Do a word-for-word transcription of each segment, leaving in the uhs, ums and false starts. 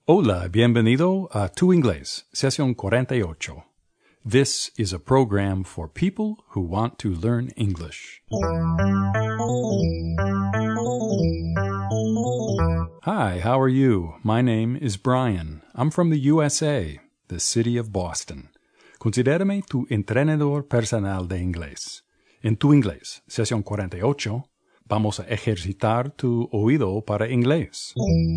Hola, bienvenido a Tu Inglés, sesión cuarenta y ocho. This is a program for people who want to learn English. Hi, how are you? My name is Brian. I'm from the U S A, the city of Boston. Considérame tu entrenador personal de inglés. En Tu Inglés, sesión cuarenta y ocho, vamos a ejercitar tu oído para inglés.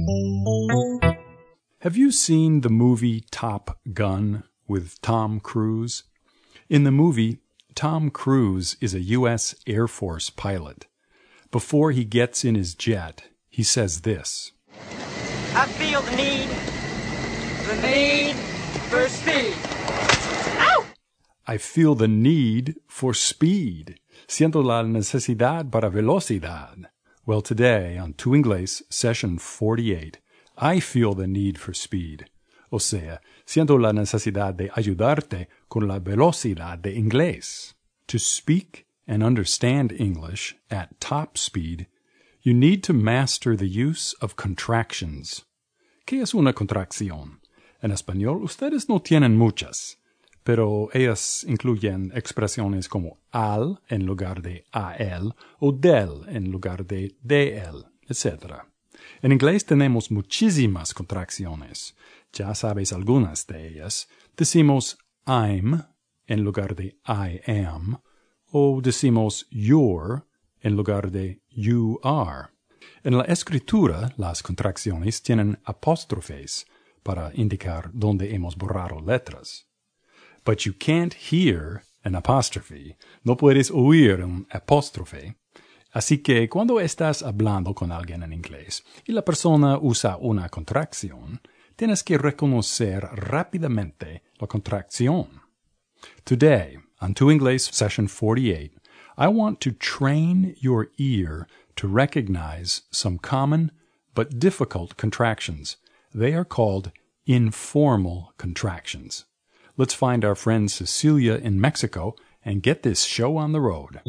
Have you seen the movie Top Gun with Tom Cruise? In the movie, Tom Cruise is a U S Air Force pilot. Before he gets in his jet, he says this. I feel the need, the need for speed. Ow! I feel the need for speed. Siento la necesidad para velocidad. Well, today on Tu Inglés, session forty-eight, I feel the need for speed. O sea, siento la necesidad de ayudarte con la velocidad de inglés. To speak and understand English at top speed, you need to master the use of contractions. ¿Qué es una contracción? En español, ustedes no tienen muchas, pero ellas incluyen expresiones como al en lugar de a él o del en lugar de de él, etcétera. En inglés tenemos muchísimas contracciones. Ya sabes algunas de ellas. Decimos I'm en lugar de I am, o decimos you're en lugar de you are. En la escritura, las contracciones tienen apóstrofes para indicar dónde hemos borrado letras. But you can't hear an apostrophe. No puedes oír un apóstrofe. Así que cuando estás hablando con alguien en inglés y la persona usa una contracción, tienes que reconocer rápidamente la contracción. Today, on Tu Inglés session forty-eight, I want to train your ear to recognize some common but difficult contractions. They are called informal contractions. Let's find our friend Cecilia in Mexico and get this show on the road.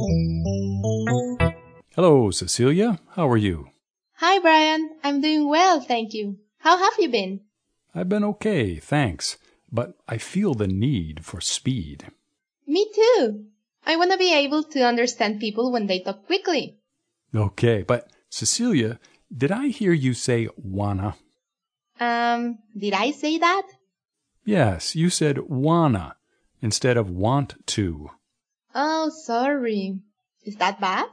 Hello, Cecilia. How are you? Hi, Brian. I'm doing well, thank you. How have you been? I've been okay, thanks. But I feel the need for speed. Me too. I want to be able to understand people when they talk quickly. Okay, but Cecilia, did I hear you say wanna? Um, did I say that? Yes, you said wanna instead of want to. Oh, sorry. Is that bad?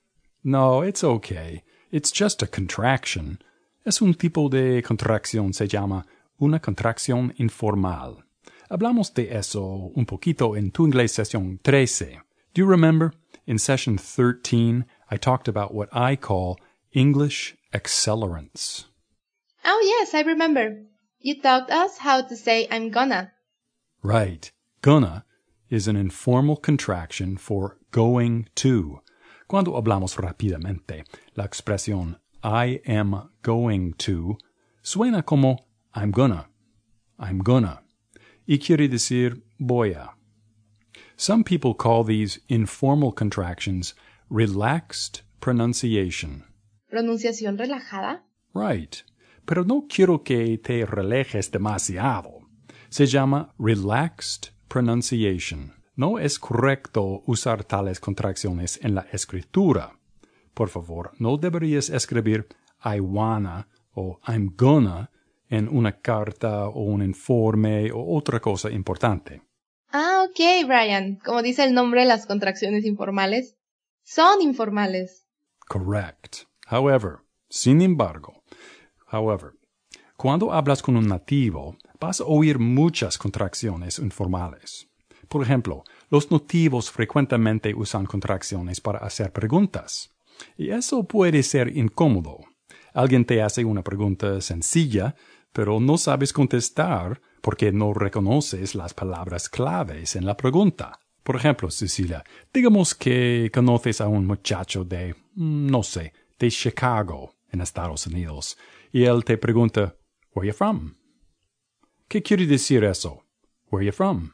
No, it's okay. It's just a contraction. Es un tipo de contracción, se llama una contracción informal. Hablamos de eso un poquito en Tu Inglés sesión trece. Do you remember? In session thirteen, I talked about what I call English accelerants. Oh, yes, I remember. You taught us how to say I'm gonna. Right. Gonna is an informal contraction for going to. Cuando hablamos rápidamente, la expresión I am going to suena como I'm gonna, I'm gonna, y quiere decir voy a. Some people call these informal contractions relaxed pronunciation. ¿Pronunciación relajada? Right, pero no quiero que te relajes demasiado. Se llama relaxed pronunciation. No es correcto usar tales contracciones en la escritura. Por favor, no deberías escribir I wanna o I'm gonna en una carta o un informe o otra cosa importante. Ah, ok, Brian. Como dice el nombre, las contracciones informales son informales. Correct. However, sin embargo, however, cuando hablas con un nativo, vas a oír muchas contracciones informales. Por ejemplo, los nativos frecuentemente usan contracciones para hacer preguntas. Y eso puede ser incómodo. Alguien te hace una pregunta sencilla, pero no sabes contestar porque no reconoces las palabras claves en la pregunta. Por ejemplo, Cecilia, digamos que conoces a un muchacho de, no sé, de Chicago, en Estados Unidos, y él te pregunta, Where you from? ¿Qué quiere decir eso? Where you from?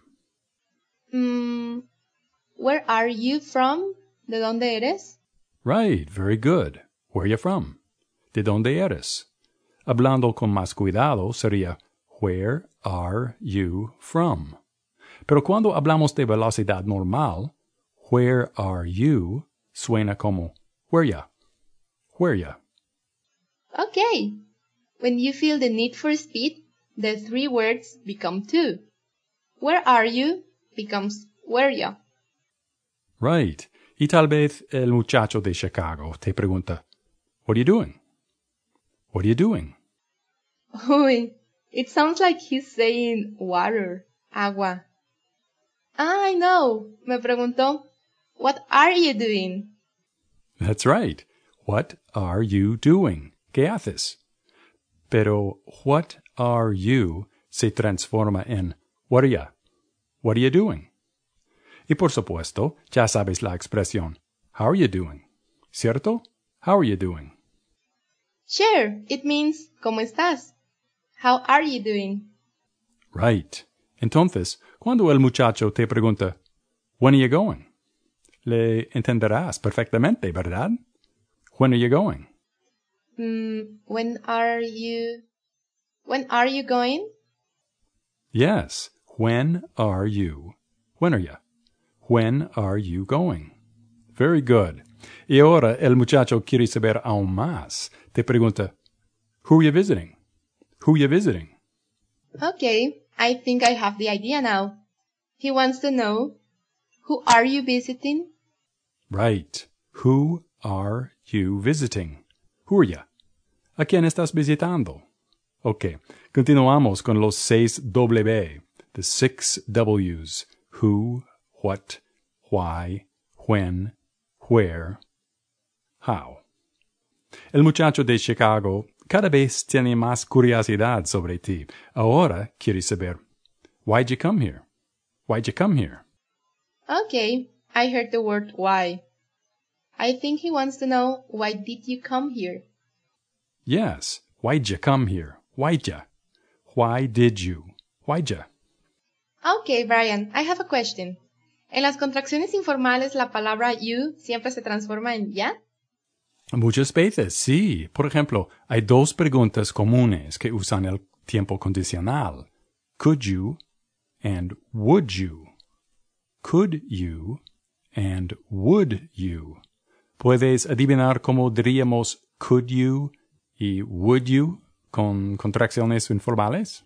Mm, where are you from? ¿De dónde eres? Right, very good. Where you from? ¿De dónde eres? Hablando con más cuidado sería Where are you from? Pero cuando hablamos de velocidad normal, Where are you suena como Where ya? Where ya? Okay. When you feel the need for speed, the three words become two. Where are you becomes where ya? Right. Y tal vez el muchacho de Chicago te pregunta, What are you doing? What are you doing? Uy, it sounds like he's saying water, agua. Ah, I know. Me preguntó, What are you doing? That's right. What are you doing? ¿Qué haces? Pero what are you se transforma en what are ya? What are you doing? Y por supuesto, ya sabes la expresión How are you doing? ¿Cierto? How are you doing? Sure, it means ¿cómo estás? How are you doing? Right. Entonces, cuando el muchacho te pregunta When are you going? Le entenderás perfectamente, ¿verdad? When are you going? Mm, when are you... When are you going? Yes. When are you? When are you? When are you going? Very good. Y ahora el muchacho quiere saber aún más. Te pregunta, Who are you visiting? Who are you visiting? Okay, I think I have the idea now. He wants to know, who are you visiting? Right. Who are you visiting? Who are you? ¿A quién estás visitando? Ok, continuamos con los seis W, the six W's. Who, what, why, when, where, how. El muchacho de Chicago cada vez tiene más curiosidad sobre ti. Ahora quiere saber, why'd you come here? Why'd you come here? Okay, I heard the word why. I think he wants to know, why did you come here? Yes, why'd you come here? Why'd you? Why did you? Why'd you? Okay, Brian, I have a question. En las contracciones informales, la palabra you siempre se transforma en ya. Muchas veces, sí. Por ejemplo, hay dos preguntas comunes que usan el tiempo condicional. Could you and would you. Could you and would you. ¿Puedes adivinar cómo diríamos could you y would you con contracciones informales?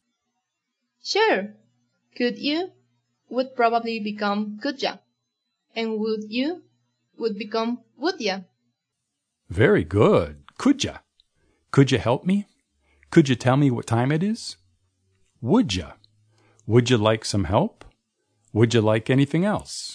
Sure. Could you would probably become could ya. And would you would become would ya. Very good. Could ya? Could you help me? Could you tell me what time it is? Would ya? Would you like some help? Would you like anything else?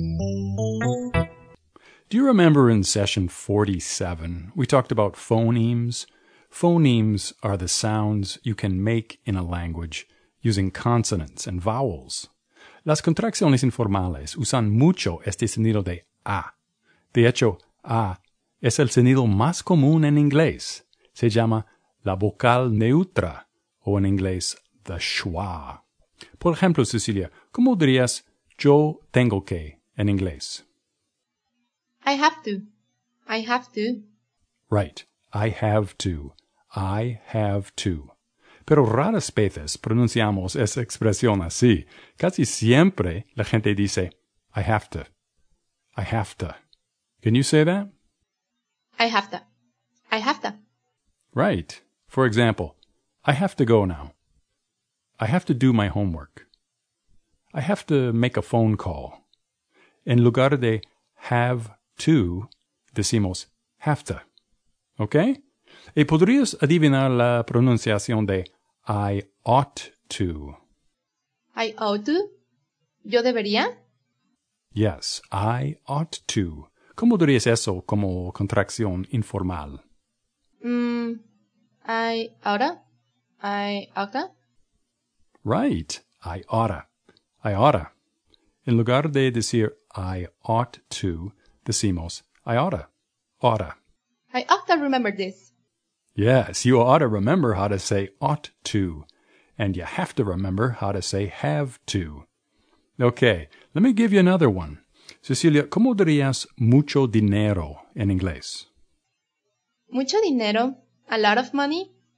Do you remember in session forty-seven, we talked about phonemes? Phonemes are the sounds you can make in a language using consonants and vowels. Las contracciones informales usan mucho este sonido de A. De hecho, A es el sonido más común en inglés. Se llama la vocal neutra, o en inglés, the schwa. Por ejemplo, Cecilia, ¿cómo dirías yo tengo que en inglés? I have to. I have to. Right. I have to. I have to. Pero raras veces pronunciamos esa expresión así. Casi siempre la gente dice, I have to. I have to. Can you say that? I have to. I have to. Right. For example, I have to go now. I have to do my homework. I have to make a phone call. En lugar de have to, decimos have to. ¿Ok? Y podrías adivinar la pronunciación de I ought to. I ought to. ¿Yo debería? Yes, I ought to. ¿Cómo dirías eso como contracción informal? Mm, I oughta. I oughta. Right. I oughta. I oughta. En lugar de decir I ought to, decimos I oughta. Oughta. I ought to remember this. Yes, you ought to remember how to say ought to. And you have to remember how to say have to. Okay, let me give you another one. Cecilia, ¿cómo dirías mucho dinero en inglés? Mucho dinero. A lot of money.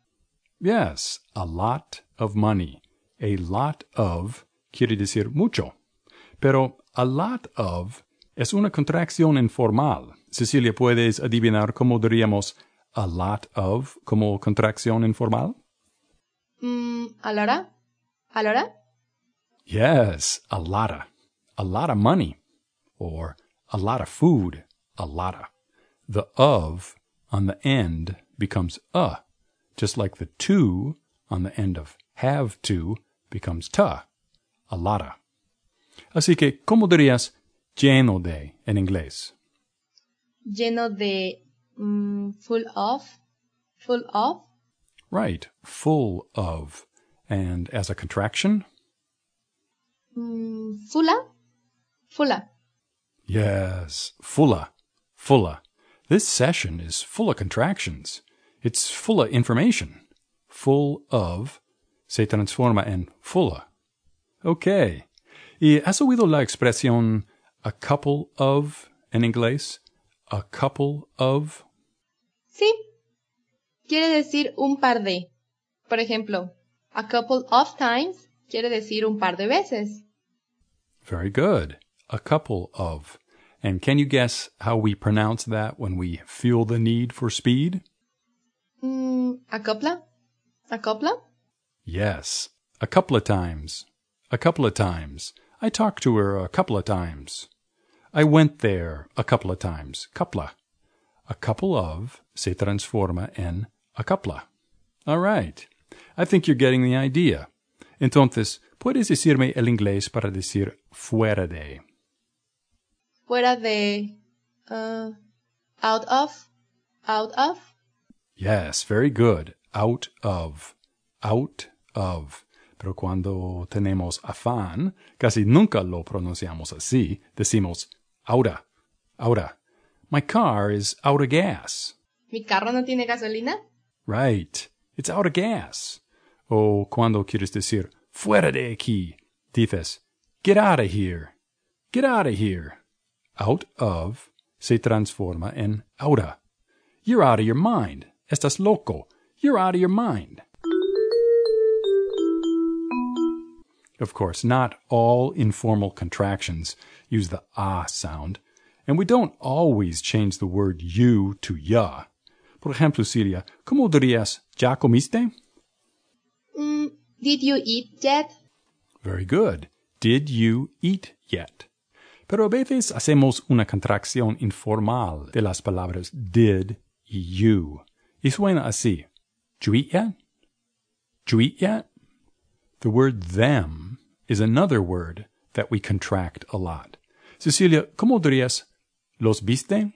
Yes, a lot of money. A lot of quiere decir mucho. Pero a lot of es una contracción informal. Cecilia, ¿puedes adivinar cómo diríamos a lot of como contracción informal? Mm, ¿A la hora? ¿A la hora? Yes, a lotta. A lot of money. Or a lot of food. A lotta. The of on the end becomes a, just like the to on the end of have to becomes ta. A lotta. Así que, ¿cómo dirías lleno de en inglés? Lleno de... mm, full of. Full of. Right, full of. And as a contraction? Mm, fulla. Fulla. Yes, fulla, fulla. This session is full of contractions. It's full of information. Full of se transforma en fulla. Okay. ¿Y has oído la expresión a couple of en inglés? A couple of. Sí. Quiere decir un par de. Por ejemplo, a couple of times quiere decir un par de veces. Very good. A couple of. And can you guess how we pronounce that when we feel the need for speed? Mm, ¿A copla? ¿A copla? Yes. A couple of times. A couple of times. I talked to her a couple of times. I went there a couple of times. Coupla. A couple of se transforma en a coupla. All right. I think you're getting the idea. Entonces, ¿puedes decirme el inglés para decir fuera de? Fuera de... Uh, out of. Out of. Yes, very good. Out of. Out of. Pero cuando tenemos afán, casi nunca lo pronunciamos así. Decimos outa, outa. My car is out of gas. ¿Mi carro no tiene gasolina? Right. It's out of gas. O cuando quieres decir fuera de aquí, dices get out of here. Get out of here. Out of se transforma en outa. You're out of your mind. Estás loco. You're out of your mind. Of course, not all informal contractions use the ah sound, and we don't always change the word you to ya. Por ejemplo, Celia, ¿cómo dirías ya comiste? Mm, did you eat yet? Very good. Did you eat yet? Pero a veces hacemos una contracción informal de las palabras did y you. Y suena así. Did you eat yet? Did you eat yet? The word them is another word that we contract a lot. Cecilia, ¿cómo dirías los viste?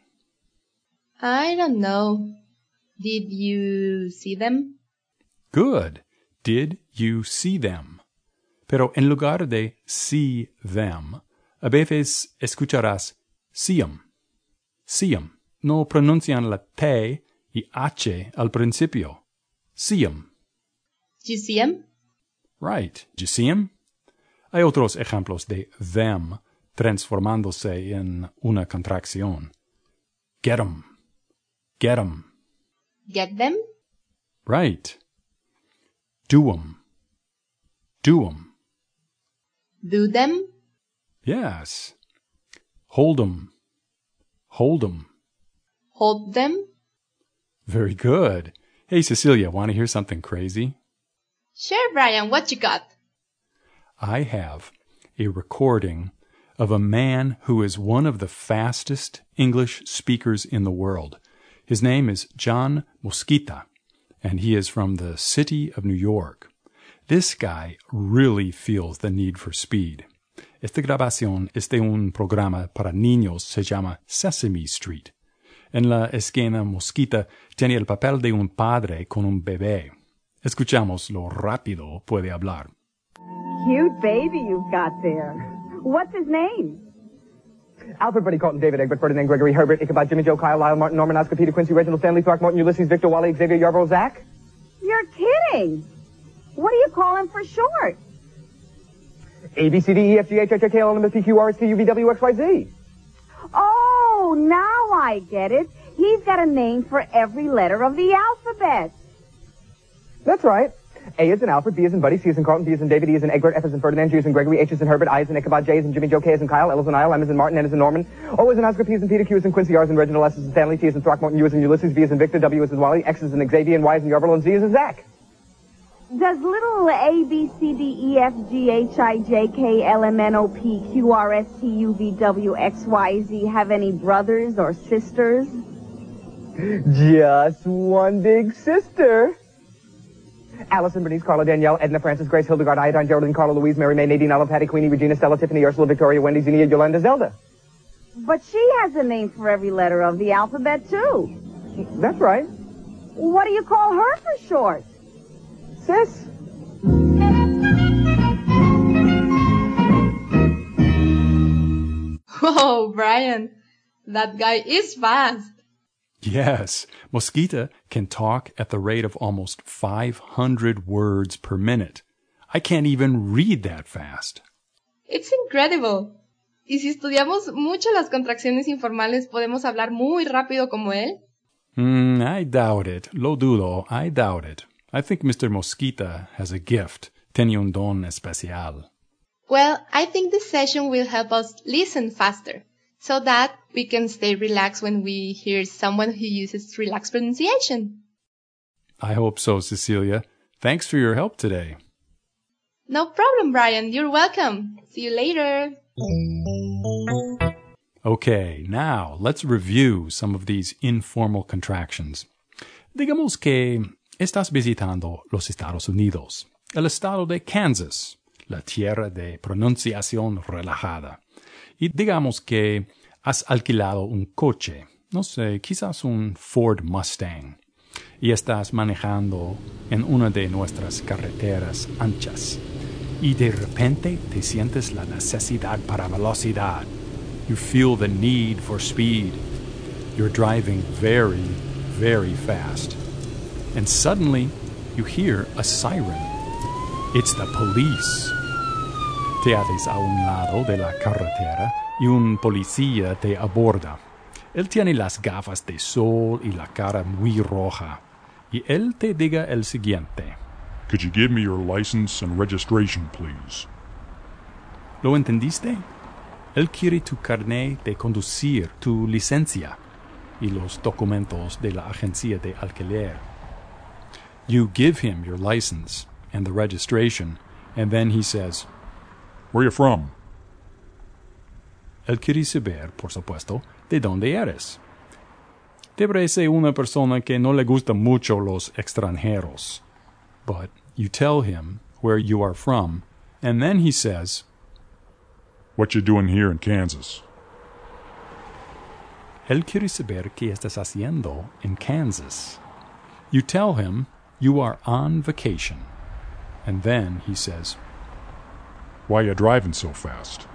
I don't know. Did you see them? Good. Did you see them? Pero en lugar de see them, a veces escucharás see 'em. See 'em. No pronuncian la T y H al principio. See 'em. Did you see them? Right. Did you see 'em? Hay otros ejemplos de them transformándose en una contracción. Get 'em. Get 'em. Get them? Right. Do 'em. Do 'em. Do them? Yes. Hold 'em. Hold 'em. Hold them? Very good. Hey, Cecilia, want to hear something crazy? Sure, Brian, what you got? I have a recording of a man who is one of the fastest English speakers in the world. His name is John Mosquita, and he is from the city of New York. This guy really feels the need for speed. Esta grabación es de un programa para niños, se llama Sesame Street. En la escena, Mosquita tiene el papel de un padre con un bebé. Escuchamos lo rápido puede hablar. Cute baby you've got there. What's his name? Alfred, Freddie, Colton, David, Egbert, Ferdinand, Gregory, Herbert, Ichabod, Jimmy, Joe, Kyle, Lyle, Martin, Norman, Oscar, Peter, Quincy, Reginald, Stanley, Clark, Martin, Ulysses, Victor, Wally, Xavier, Yarborough, Zach. You're kidding. What do you call him for short? A, B, C, D, E, F, G, H, I, J, K, L, M, N, P, Q, R, S, T, U, V, W, X, Y, Z. Oh, now I get it. He's got a name for every letter of the alphabet. That's right. A is in Alfred, B is in Buddy, C is in Carlton, D is in David, E is in Egbert, F is in Ferdinand, G is in Gregory, H is in Herbert, I is in Ichabod, J is in Jimmy, Joe, K is in Kyle, L is in Isle, M is in Martin, N is in Norman, O is in Oscar, P is in Peter, Q is in Quincy, R is in Reginald, S is in Stanley, T is in Throckmorton, U is in Ulysses, V is in Victor, W is in Wally, X is in Xavier, and Y is in Yarville, and Z is in Zach. Does little A, B, C, D, E, F, G, H, I, J, K, L, M, N, O, P, Q, R, S, T, U, V, W, X, Y, Z have any brothers or sisters? Just one big sister. Allison, Bernice, Carla, Danielle, Edna, Frances, Grace, Hildegard, Iodine, Geraldine, Carla, Louise, Mary, May, Nadine, Ella, Patty, Queenie, Regina, Stella, Tiffany, Ursula, Victoria, Wendy, Zinnia, Yolanda, Zelda. But she has a name for every letter of the alphabet, too. That's right. What do you call her for short? Sis. Whoa, Brian, that guy is fast. Yes, Mosquita can talk at the rate of almost five hundred words per minute. I can't even read that fast. It's incredible. Y si estudiamos mucho las contracciones informales, ¿podemos hablar muy rápido como él? Mm, I doubt it. Lo dudo. I doubt it. I think Mister Mosquita has a gift. Tiene un don especial. Well, I think this session will help us listen faster, so that we can stay relaxed when we hear someone who uses relaxed pronunciation. I hope so, Cecilia. Thanks for your help today. No problem, Brian. You're welcome. See you later. Okay, now let's review some of these informal contractions. Digamos que estás visitando los Estados Unidos, el estado de Kansas, la tierra de pronunciación relajada. Y digamos que has alquilado un coche, no sé, quizás un Ford Mustang, y estás manejando en una de nuestras carreteras anchas. Y de repente te sientes la necesidad para velocidad. You feel the need for speed. You're driving very, very fast. And suddenly, you hear a siren. It's the police. Te haces a un lado de la carretera y un policía te aborda. Él tiene las gafas de sol y la cara muy roja. Y él te diga el siguiente. Could you give me your license and registration, please? ¿Lo entendiste? Él quiere tu carnet de conducir, tu licencia y los documentos de la agencia de alquiler. You give him your license and the registration, and then he says, Where are you from? Él quiere saber, por supuesto, de dónde eres. Te parece una persona que no le gustan mucho los extranjeros. But you tell him where you are from, and then he says, What you doing here in Kansas? Él quiere saber qué estás haciendo en Kansas. You tell him you are on vacation, and then he says, Why you driving so fast?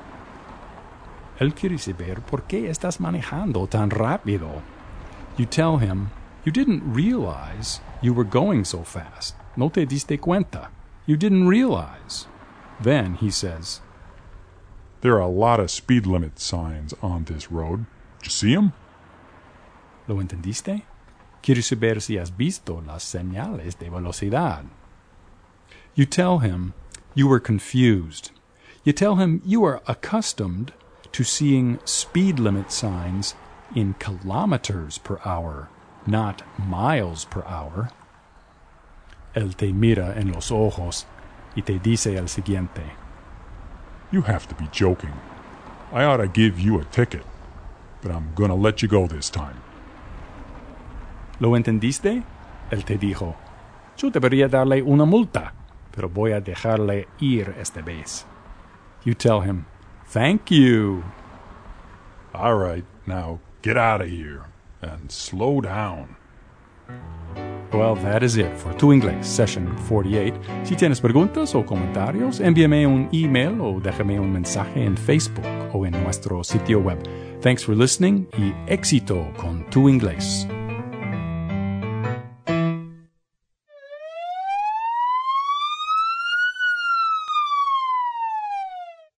Él quiere saber por qué estás manejando tan rápido. You tell him you didn't realize you were going so fast. No te diste cuenta. You didn't realize. Then he says, There are a lot of speed limit signs on this road. Did you see them? ¿Lo entendiste? Quiere saber si has visto las señales de velocidad. You tell him you were confused. You tell him you are accustomed to seeing speed limit signs in kilometers per hour, not miles per hour. Él te mira en los ojos y te dice el siguiente. You have to be joking. I ought to give you a ticket, but I'm gonna let you go this time. ¿Lo entendiste? Él te dijo, yo debería darle una multa, pero voy a dejarle ir esta vez. You tell him, thank you. All right, now get out of here and slow down. Well, that is it for Tu Inglés, Session forty-eight. Si tienes preguntas o comentarios, envíame un email o déjame un mensaje en Facebook o en nuestro sitio web. Thanks for listening y éxito con Tu Inglés.